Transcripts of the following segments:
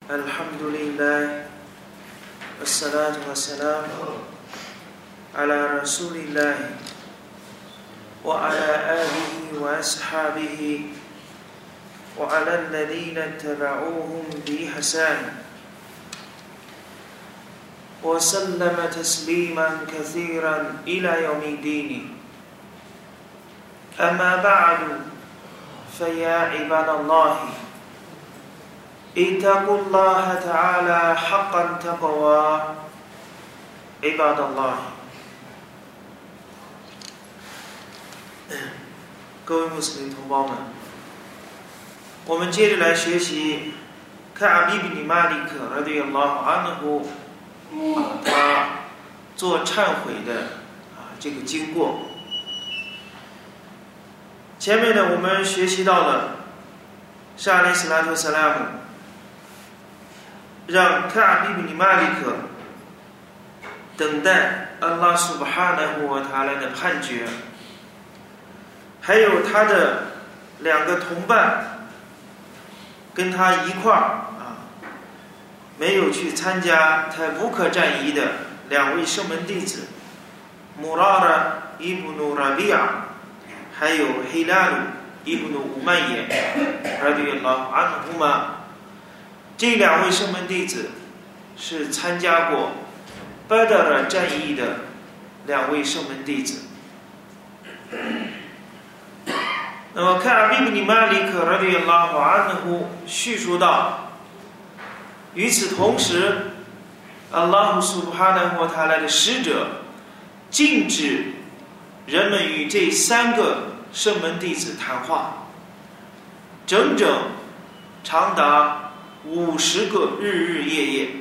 الحمد لله والصلاة والسلام على رسول الله وعلى آله وأصحابه وعلى الذين اتبعوهم بإحسان وسلم تسليما كثيرا إلى يوم الدين. أما بعد فيا عباد الله اتقوا الله تعالى حقا تقوى عباد الله。各位穆斯林同胞们，我们接着来学习卡比比尼马里克拉迪亚拉安纳胡他做忏悔的这个经过。前面呢，我们学习到了沙阿里斯拉特萨拉姆让卡比比尼马里克等待安拉苏巴哈纳胡瓦塔拉的判决，还有他的两个同伴跟他一块儿没有去参加泰布克战役的两位圣门弟子穆拉拉伊布努拉比亚还有黑拉鲁伊布努乌曼耶拉迪亚拉安胡玛，这两位圣门弟子是参加过巴达尔战役的两位圣门弟子。那么卡比布尼马里克拉迪亚拉安胡叙述到，与此同时，阿拉胡苏布哈纳胡塔拉的使者禁止人们与这三个圣门弟子谈话，整整长达50个日日夜夜。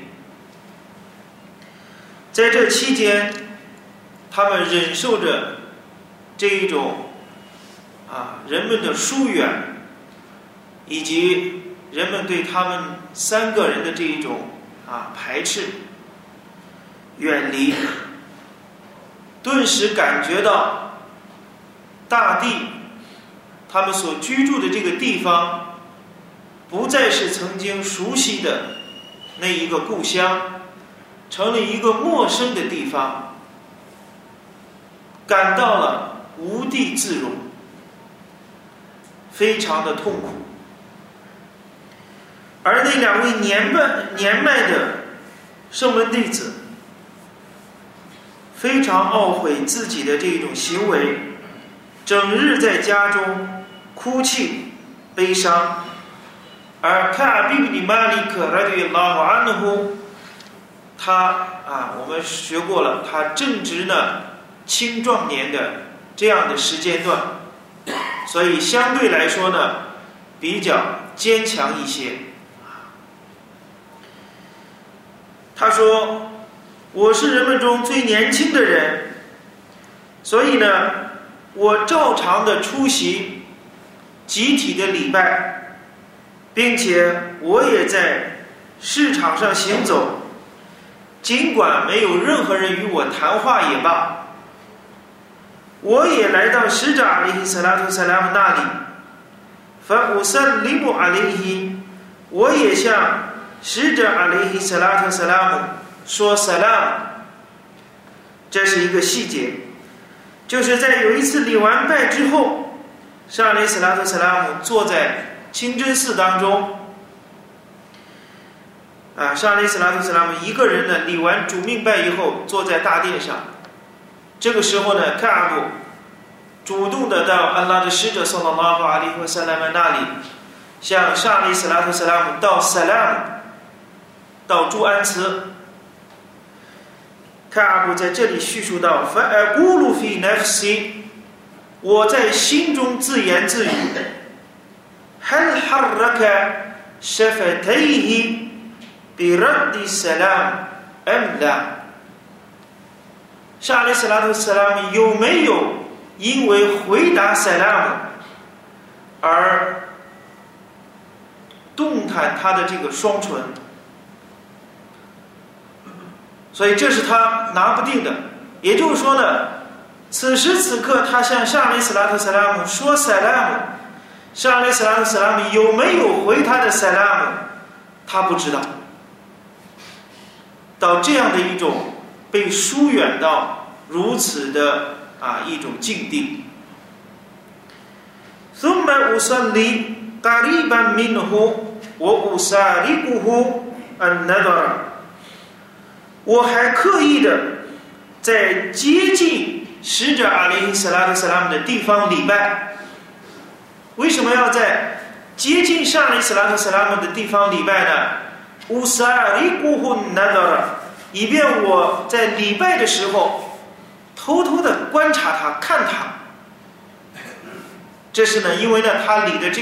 在这期间，他们忍受着这一种人们的疏远，以及人们对他们三个人的这一种排斥、远离，顿时感觉到大地，他们所居住的这个地方，不再是曾经熟悉的那一个故乡，成了一个陌生的地方，感到了无地自容，非常的痛苦。而那两位年迈的圣门弟子非常懊悔自己的这种行为，整日在家中哭泣悲伤。而卡比比尼马里克拉迪亚拉安纳胡他我们学过了，他正值呢青壮年的这样的时间段，所以相对来说呢比较坚强一些。他说，我是人们中最年轻的人，所以呢我照常的出席集体的礼拜，并且我也在市场上行走，尽管没有任何人与我谈话也罢，我也来到使者阿里希萨拉图萨拉姆那里，法乌萨里姆阿里希，我也向使者阿里希萨拉图萨拉姆说萨拉姆。这是一个细节，就是在有一次礼完拜之后，沙阿里斯拉图萨拉姆坐在清真寺当中，沙阿里斯拉图萨拉姆一个人呢礼完主命拜以后坐在大殿上。这个时候呢，卡阿布主动的到安拉的使者саллаллаху алейхи ва саллям那里，向沙阿里斯拉图萨拉姆道萨拉姆，道祝安慈。卡阿布在这里叙述到فأقول في نفسي，我在心中自言自语هل حرك شفتيه برد السلام أم لا，沙阿里斯拉图萨拉姆有没有因为回答萨拉姆而动弹他的这个双唇？所以这是他拿不定的。也就是说呢，此时此刻他向沙阿里斯拉图萨拉姆说萨拉姆，沙阿里斯拉图萨拉姆有没有回他的萨拉姆， 他不知道，到这样的一种被疏远到如此的一种境地。ثم أصلي قريبا منه وأسارقه النظر， 我还刻意的在接近使者阿里斯拉特斯拉姆的地方礼拜。为什么要在接近上阿里斯拉特斯拉姆的地方礼拜呢？以便我在礼拜的时候偷偷的观察他，看他。这是呢，因为呢，他礼的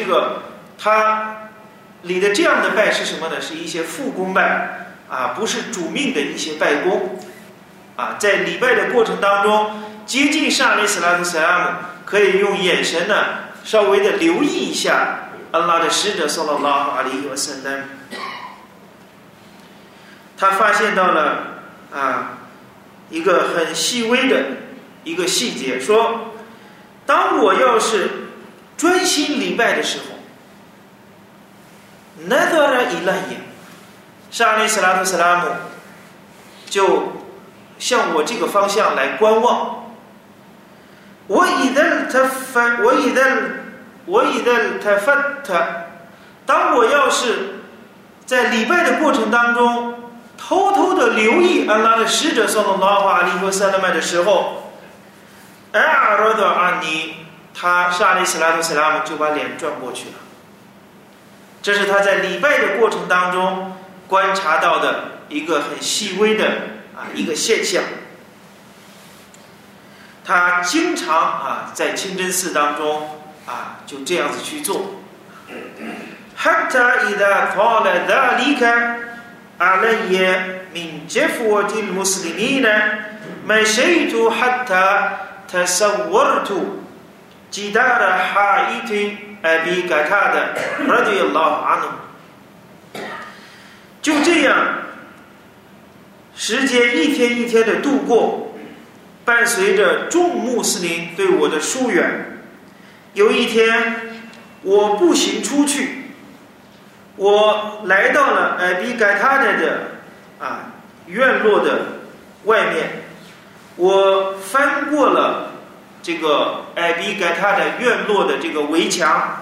这样的拜是什么呢？是一些副功拜不是主命的一些拜功在礼拜的过程当中，接近上阿里斯拉特斯拉姆，可以用眼神呢稍微的留意一下安拉的使者ศ็อลลัลลอฮุอะลัยฮิวะซัลลัม。他发现到了一个很细微的一个细节，说当我要是专心礼拜的时候，nadara ilayya， 上阿里斯拉特斯拉姆就向我这个方向来观望。وإذا التفت， 当我要是在礼拜的过程当中偷偷的留意安拉的使者ศ็อลลัลลอฮุอะลัยฮิวะซัลลัม的时候，أعرض عني， 他上阿里斯拉特斯拉姆就把脸转过去了。这是他在礼拜的过程当中观察到的一个很细微的一个现象。他经常在清真寺当中就这样子去做。حتى إذا قال ذلك علي من جفوة المسلمين مشيت حتى تصورت جدار حائط أبي قتادة رضي الله عنه。就这样，时间一天一天的度过，伴随着众穆斯林对我的疏远。有一天，我步行出去，我来到了艾比盖塔的院落的外面，我翻过了这个艾比盖塔的院落的这个围墙。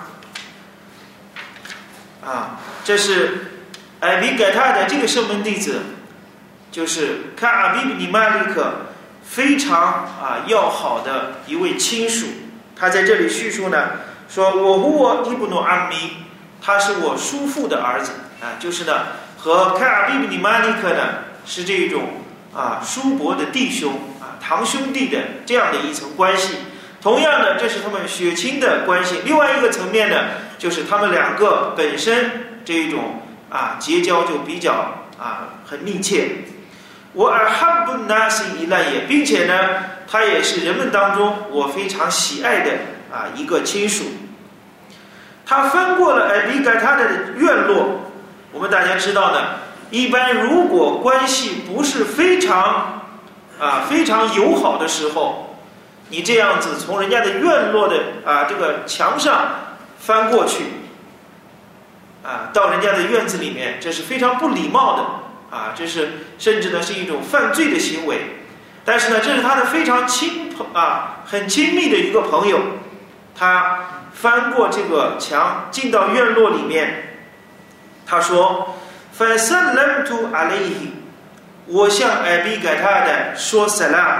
这是艾比盖塔的这个圣门弟子，就是卡阿比布尼马利克非常要好的一位亲属。他在这里叙述呢，说我huwa ibnu ammi， 他是我叔父的儿子就是呢和卡阿比布尼马利克呢是这种叔伯的弟兄堂兄弟的这样的一层关系。同样的，这是他们血亲的关系。另外一个层面呢，就是他们两个本身这种结交就比较很密切。我ahabbu nasi ilayya， 并且呢，他也是人们当中我非常喜爱的一个亲属。他翻过了艾比盖塔的院落。我们大家知道呢，一般如果关系不是非常友好的时候，你这样子从人家的院落的这个墙上翻过去到人家的院子里面，这是非常不礼貌的这是甚至呢是一种犯罪的行为。但是呢，这是他的非常很亲密的一个朋友，他翻过这个墙进到院落里面。他说 فسلمت عليه， 我向艾比盖塔的说 salam，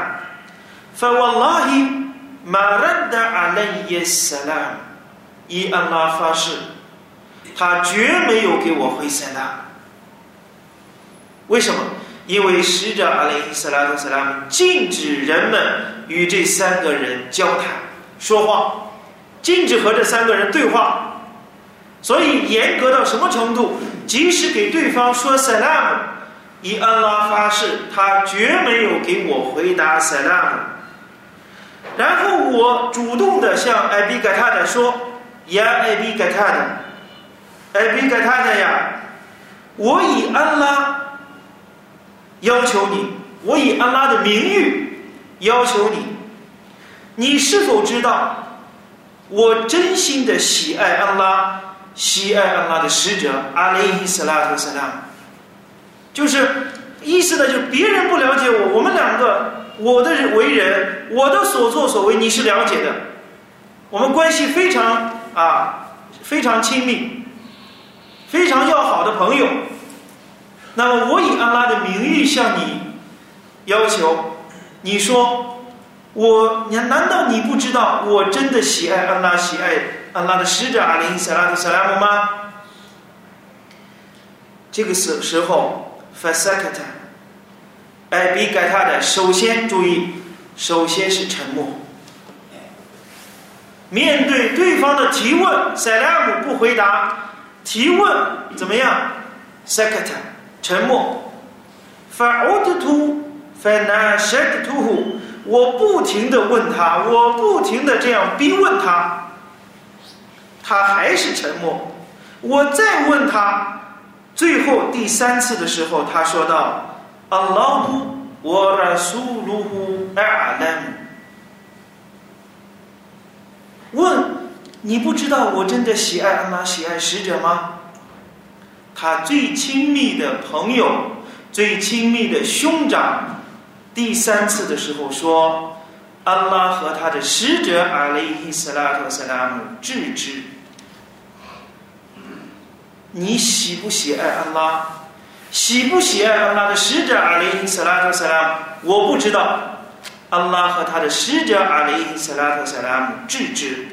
فوالله ما رد علي السلام， 以安拉发誓，他绝没有给我回 salam。 为什么？因为使者阿里斯拉特斯拉姆禁止人们与这三个人交谈说话，禁止和这三个人对话。所以严格到什么程度？即使给对方说 salam， 以安拉发誓，他绝没有给我回答 salam。 然后我主动的向艾比盖塔的说，呀艾比盖塔的，艾比盖塔的呀，我以安拉要求你，我以安拉的名誉要求你，你是否知道我真心的喜爱安拉， 喜爱安拉的使者阿莱伊斯拉特萨拉姆，就是意思呢，就别人不了解我，我们两个我的为人，我的所作所为你是了解的，我们关系非常亲密，非常要好的朋友。那么我以安拉的名誉向你要求，你说难道你不知道我真的喜爱安拉，喜爱安拉的使者阿莱伊斯拉特萨拉姆吗？这个时候 fasakata 比盖他的首先注意，首先是沉默。面对对方的提问，塞拉姆不回答，提问怎么样 sakata 沉默。fa'udtu fanashadtuhu 我不停地问他，我不停地这样逼问他，他还是沉默。我再问他，最后第3次的时候，他说道 Allahu wa rasuluhu a'lam 问你不知道我真的喜爱安拉，喜爱使者吗？他最亲密的朋友，最亲密的兄长，第3次的时候说安拉和他的使者阿莱伊斯拉特萨拉姆致之。你喜不喜爱安拉？喜不喜爱安拉的使者阿莱伊斯拉特萨拉姆？我不知道。安拉和他的使者阿莱伊斯拉特萨拉姆致之。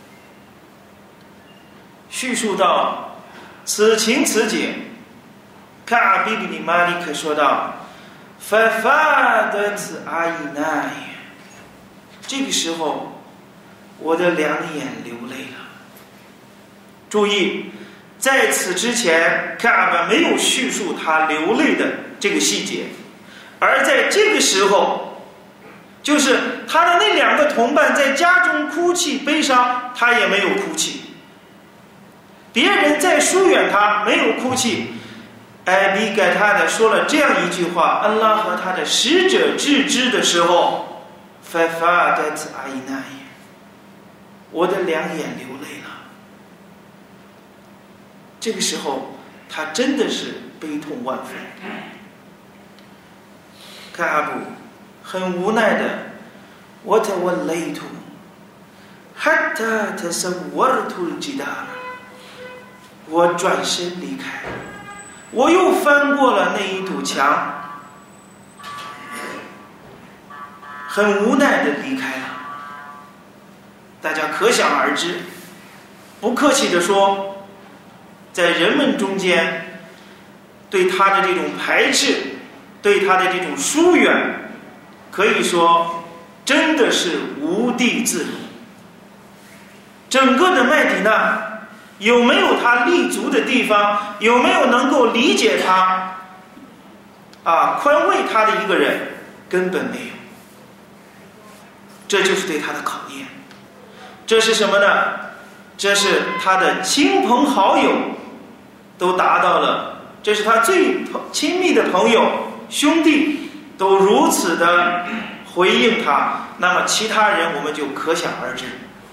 叙述到此情此景，卡阿比比尼马利克说道 فَفَادَتْ عَيْنَايَ 这个时候我的2眼流泪了。注意，在此之前卡阿巴没有叙述他流泪的这个细节，而在这个时候，就是他的那2个同伴在家中哭泣悲伤，他也没有哭泣。别人在疏远他，没有哭泣。比盖他的说了这样一句话，安拉和他的使者致之的时候 فَفَادَتْ عَيْنَايَ 我的2眼流泪了。这个时候他真的是悲痛万分。卡阿布很无奈的 وَتَوَلَّيْتُ حَتَّى تَسَوَّرْتُ الْجِدَارَ 我转身离开，我又翻过了那一堵墙，很无奈的离开了。大家可想而知，不客气地说，在人们中间对他的这种排斥，对他的这种疏远，可以说真的是无地自容。整个的麦地那有没有他立足的地方？有没有能够理解他宽慰他的一个人？根本没有。这就是对他的考验。这是什么呢？这是他的亲朋好友都达到了，这是他最亲密的朋友兄弟都如此的回应他，那么其他人我们就可想而知。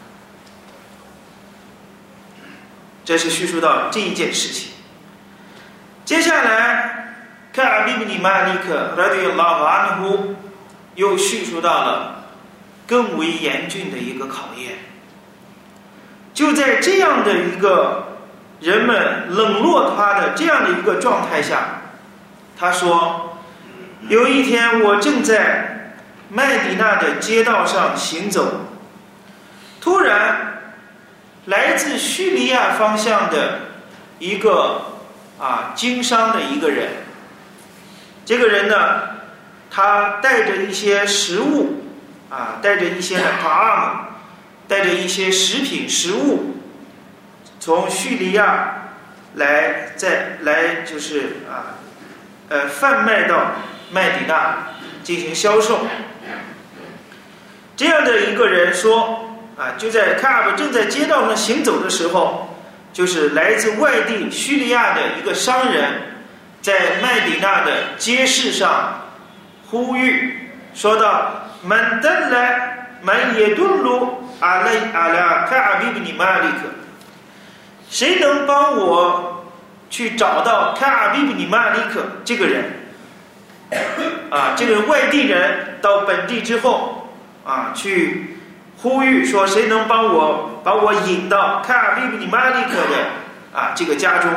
这是叙述到这一件事情。接下来卡阿比比尼马利克拉迪拉瓦安呼又叙述到了更为严峻的一个考验。就在这样的一个人们冷落他的这样的一个状态下，他说有一天我正在麦迪那的街道上行走，突然来自叙利亚方向的一个经商的一个人，这个人呢，他带着一些食物带着一些带着一些食品食物，从叙利亚来就是贩卖到麦迪那进行销售。这样的一个人说就在卡阿布正在街道上行走的时候，就是来自外地叙利亚的一个商人在麦迪那的街市上呼吁说道 Man dalla man yadullu ala Ka'b ibn Malik 谁能帮我去找到卡阿比布尼马利克这个人？这个外地人到本地之后去呼吁说，谁能把我引到卡阿比布尼马利克的这个家中。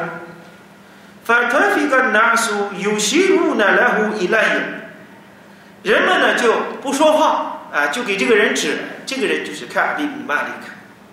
人们呢就不说话就给这个人指，这个人就是卡阿比布尼马利克。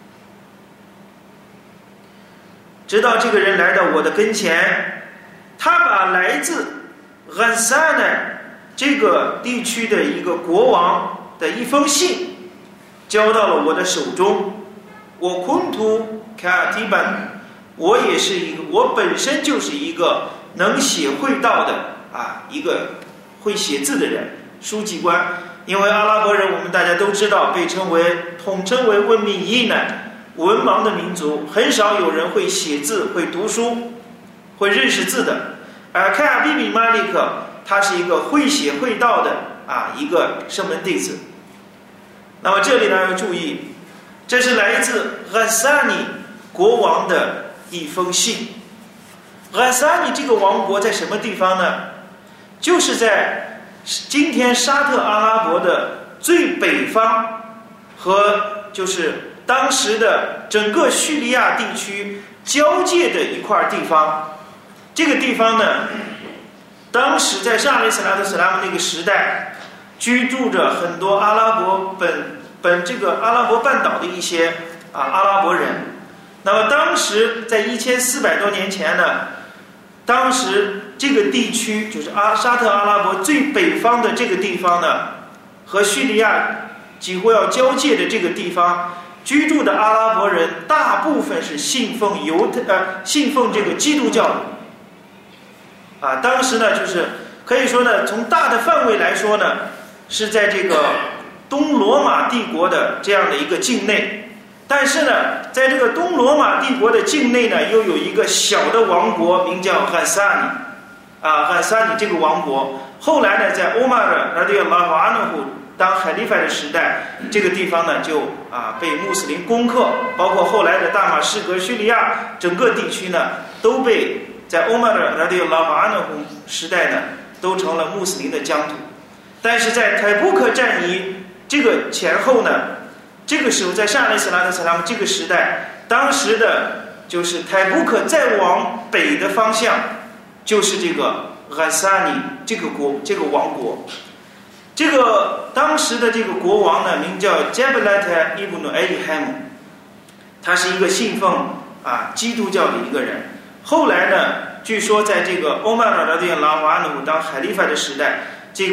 直到这个人来到我的跟前，他把来自安萨奈这个地区的一个国王的一封信交到了我的手中。我昆图卡提班，我本身就是一个能写会道的一个会写字的人，书记官。因为阿拉伯人我们大家都知道，被统称为文明伊难文盲的民族，很少有人会写字、会读书、会认识字的。而卡阿比比马利克他是一个会写会道的一个圣门弟子。那么这里呢要注意，这是来自安萨尼国王的一封信。安萨尼这个王国在什么地方呢？就是在今天沙特阿拉伯的最北方，和就是当时的整个叙利亚地区交界的一块地方。这个地方呢，当时在沙利斯拉特斯拉姆那个时代，居住着很多阿拉伯这个阿拉伯半岛的一些阿拉伯人。那么当时在1400多年前呢，当时这个地区就是沙特阿拉伯最北方的这个地方呢，和叙利亚几乎要交界的这个地方居住的阿拉伯人，大部分是信奉这个基督教的。当时呢，就是可以说呢，从大的范围来说呢，是在这个东罗马帝国的这样的一个境内。但是呢，在这个东罗马帝国的境内呢，又有一个小的王国，名叫汉萨尼。汉萨尼这个王国，后来呢，在欧马尔拉迪亚拉瓦努胡当海利法的时代，这个地方呢就被穆斯林攻克，包括后来的大马士革、叙利亚整个地区呢，都被在欧马尔拉迪亚拉瓦努胡时代呢，都成了穆斯林的疆土。但是在泰布克战役这个前后呢，这个时候在沙利斯拉特斯拉姆这个时代，当时的就是泰布克再往北的方向，就是这个安萨尼这个王国。这个当时的这个国王呢，名叫杰布拉特伊布努埃里海姆，他是一个信奉基督教的一个人。后来呢，据说在这个欧曼尔拉迪亚拉瓦努当海利法的时代，这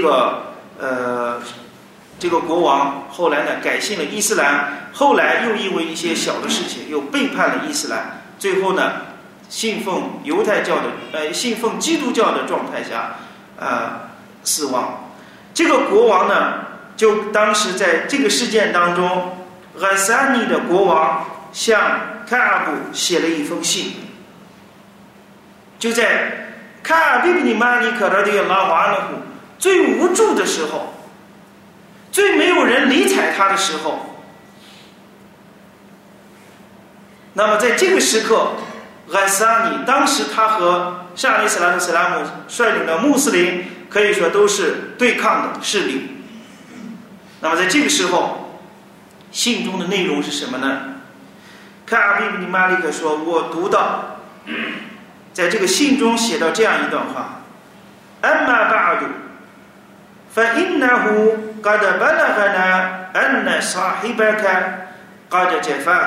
个国王后来呢改信了伊斯兰，后来又因为一些小的事情又背叛了伊斯兰，最后呢信奉信奉基督教的状态下死亡。这个国王呢，就当时在这个事件当中，安萨尼的国王向卡阿布写了一封信。就在卡阿比布尼马里克拉迪亚拉瓦努胡最无助的时候，最没有人理睬他的时候，那么在这个时刻，安萨尼当时他和沙利斯拉特斯拉姆率领的穆斯林可以说都是对抗的势力。那么在这个时候，信中的内容是什么呢？卡阿比布尼马里克说，我读到在这个信中写到这样一段话：“Amma ba'du, fa innahu qad balaghana anna sahibaka qad jafaka。”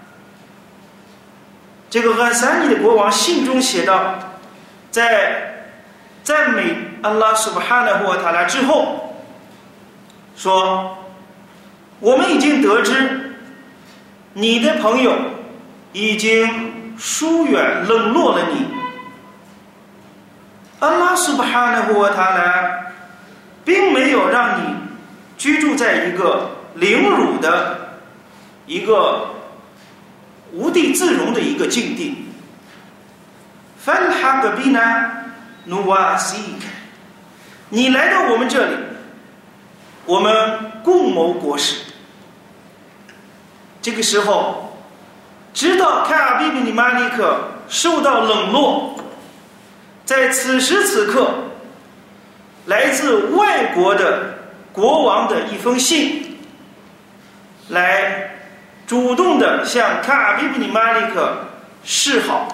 这个安萨尼的国王信中写道，在赞美安拉苏巴哈纳胡瓦塔拉之后，说：“我们已经得知，你的朋友已经疏远冷落了你。安拉苏巴哈纳胡瓦塔拉并没有让你居住在一个凌辱的一个无地自容的一个境地。فَالْحَقَ بِنَا نُوَاسِيكَ， 你来到我们这里，我们共谋国事。”这个时候， 直到凯尔比比马利克受到冷落，在此时此刻，来自外国的国王的一封信，来主动的向凯尔比比马利克示好。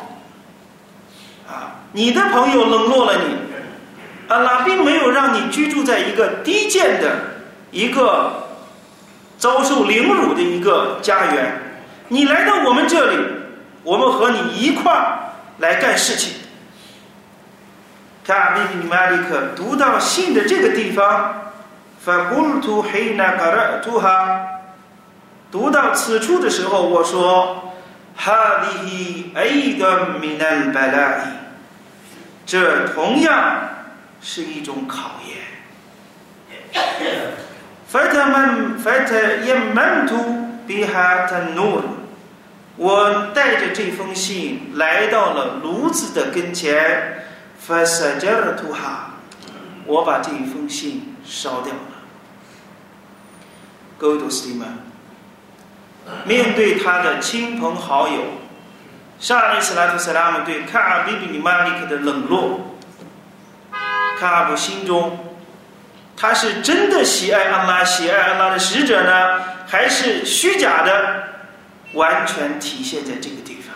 你的朋友冷落了你，安拉并没有让你居住在一个低贱的、一个遭受凌辱的一个家园。你来到我们这里，我们和你一块儿来干事情。凯尔比比马利克读到信的这个地方，فَقُلْتُ حِينَ قَرَأْتُهَا， 读到此处的时候，我说هَذِهِ أَيْضًا مِنَ الْبَلَاءِ， 这同样是一种考验。فَتَيَمَّمْتُ بِهَا تَنُّورٍ， 我带着这封信来到了炉子的跟前， فَسَجَرْتُهَا， 我把这封信烧掉了。各位读书们，面对他的亲朋好友，沙阿里斯拉图萨拉姆对卡尔比比马利克的冷落，卡尔布心中，他是真的喜爱安拉、喜爱安拉的使者呢，还是虚假的？完全体现在这个地方。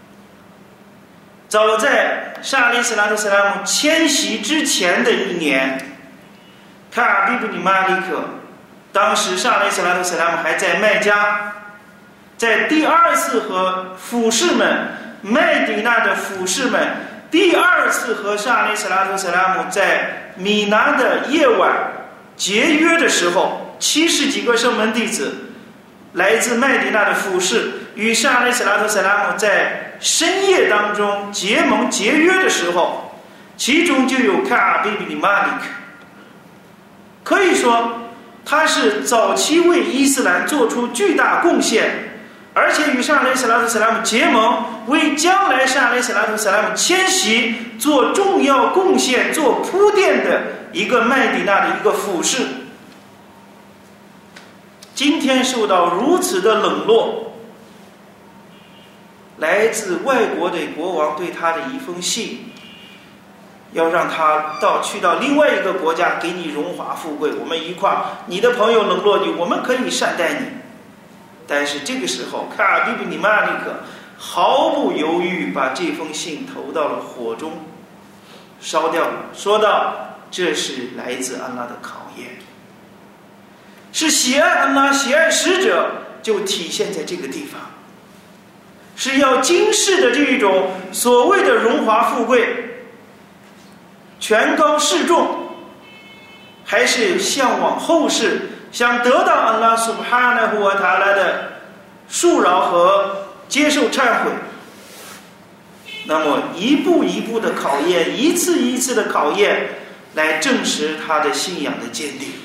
早在沙阿里斯拉图萨拉姆迁徙之前的一年，卡尔比比马利克，当时沙阿里斯拉图萨拉姆还在麦加，在第二次和辅士们麦迪那的辅士们第二次和沙阿里斯拉图萨拉姆在米拿的夜晚结约的时候，70几个圣门弟子来自麦迪那的辅士与沙阿里斯拉图萨拉姆在深夜当中结盟结约的时候，其中就有卡尔比比马利克。可以说他是早期为伊斯兰做出巨大贡献，而且与沙阿里斯拉图萨拉姆结盟，为将来沙阿里斯拉图萨拉姆迁徙做重要贡献、做铺垫的一个麦迪那的一个辅士。今天受到如此的冷落，来自外国的国王对他的一封信，要让他去到另外一个国家给你荣华富贵，我们一块儿，你的朋友冷落你，我们可以善待你。但是这个时候，卡尔比比马利克毫不犹豫把这封信投到了火中，烧掉了，说道：“这是来自安拉的考验。”是喜爱安拉、喜爱使者，就体现在这个地方。是要今世的这种所谓的荣华富贵、权高势重，还是向往后世，想得到安拉苏布哈纳胡瓦塔拉的恕饶和接受忏悔，那么一步一步的考验，一次一次的考验，来证实他的信仰的坚定。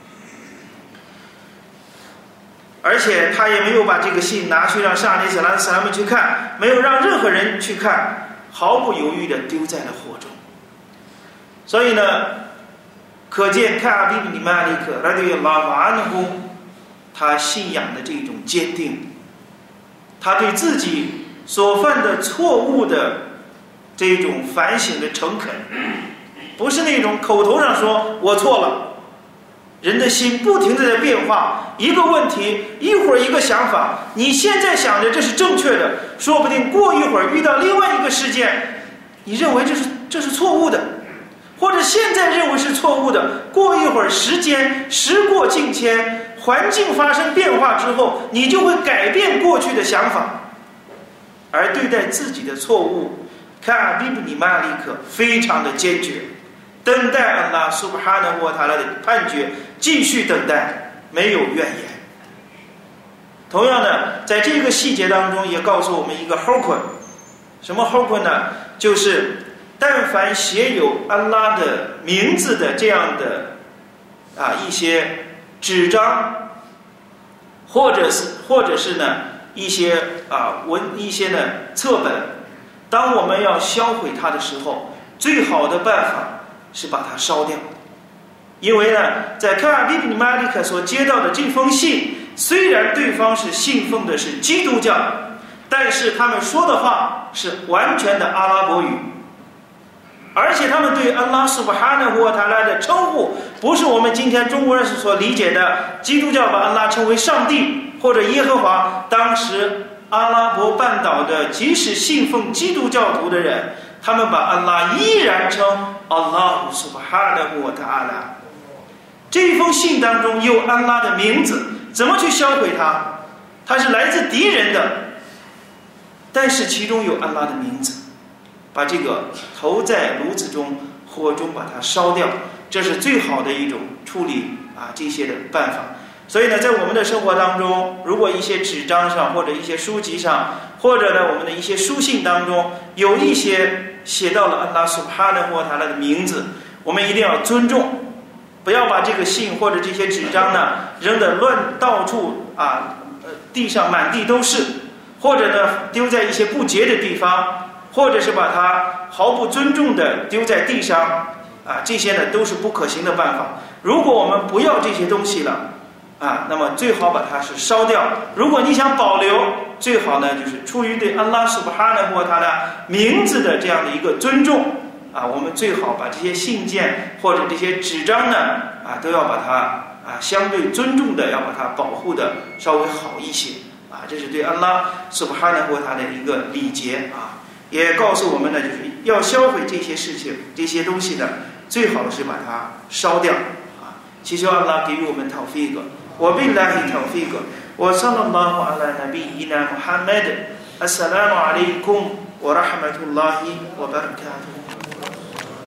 而且他也没有把这个信拿去让沙阿里斯拉图萨拉姆去看，没有让任何人去看，毫不犹豫地丢在了火中。所以呢，可见卡尔比比马利克拉迪亚拉瓦安呼他信仰的这种坚定，他对自己所犯的错误的这种反省的诚恳，不是那种口头上说我错了。人的心不停地在变化，一个问题一会儿一个想法，你现在想着这是正确的，说不定过一会儿遇到另外一个事件，你认为这是错误的，或者现在认为是错误的，过一会儿时过境迁，环境发生变化之后，你就会改变过去的想法。而对待自己的错误，卡尔比比马利克非常的坚决，等待安拉苏布哈纳胡瓦塔拉的判决，继续等待，没有怨言。同样的，在这个细节当中也告诉我们一个 hukm， 什么 hukm 呢？就是但凡写有安拉的名字的这样的一些纸张，或者是呢一些呢册本，当我们要销毁它的时候，最好的办法是把它烧掉。因为呢，在卡尔比比马利克所接到的这封信，虽然对方是信奉的是基督教， 但是他们说的话是完全的阿拉伯语，而且他们对安拉苏巴哈纳胡瓦塔拉的称呼不是我们今天中国人所理解的基督教把安拉称为上帝或者耶和华。当时阿拉伯半岛的即使信奉基督教徒的人，他们把安拉依然称阿拉苏巴哈纳胡瓦塔拉。这一封信当中有安拉的名字，怎么去销毁它？它是来自敌人的，但是其中有安拉的名字，把这个投在炉子中，火中把它烧掉，这是最好的一种处理这些的办法。所以呢，在我们的生活当中，如果一些纸张上或者一些书籍上，或者呢我们的一些书信当中有一些写到了安拉苏巴哈纳胡瓦塔拉的名字，我们一定要尊重，不要把这个信或者这些纸张呢扔得到处地上满地都是，或者呢丢在一些不洁的地方，或者是把它毫不尊重的丢在地上这些呢都是不可行的办法。如果我们不要这些东西了那么最好把它是烧掉。如果你想保留，最好呢就是出于对安拉苏巴哈纳胡瓦塔拉名字的这样的一个尊重我们最好把这些信件或者这些纸张呢都要把它相对尊重的要把它保护的稍微好一些这是对安拉苏巴哈纳胡瓦塔拉的一个礼节也告诉我们呢，就是要销毁这些事情这些东西呢，最好是把它烧掉祈求安拉给予我们tawfiq。وبالله توفيق وصلى الله على نبينا محمد. السلام عليكم ورحمة الله وبركاته.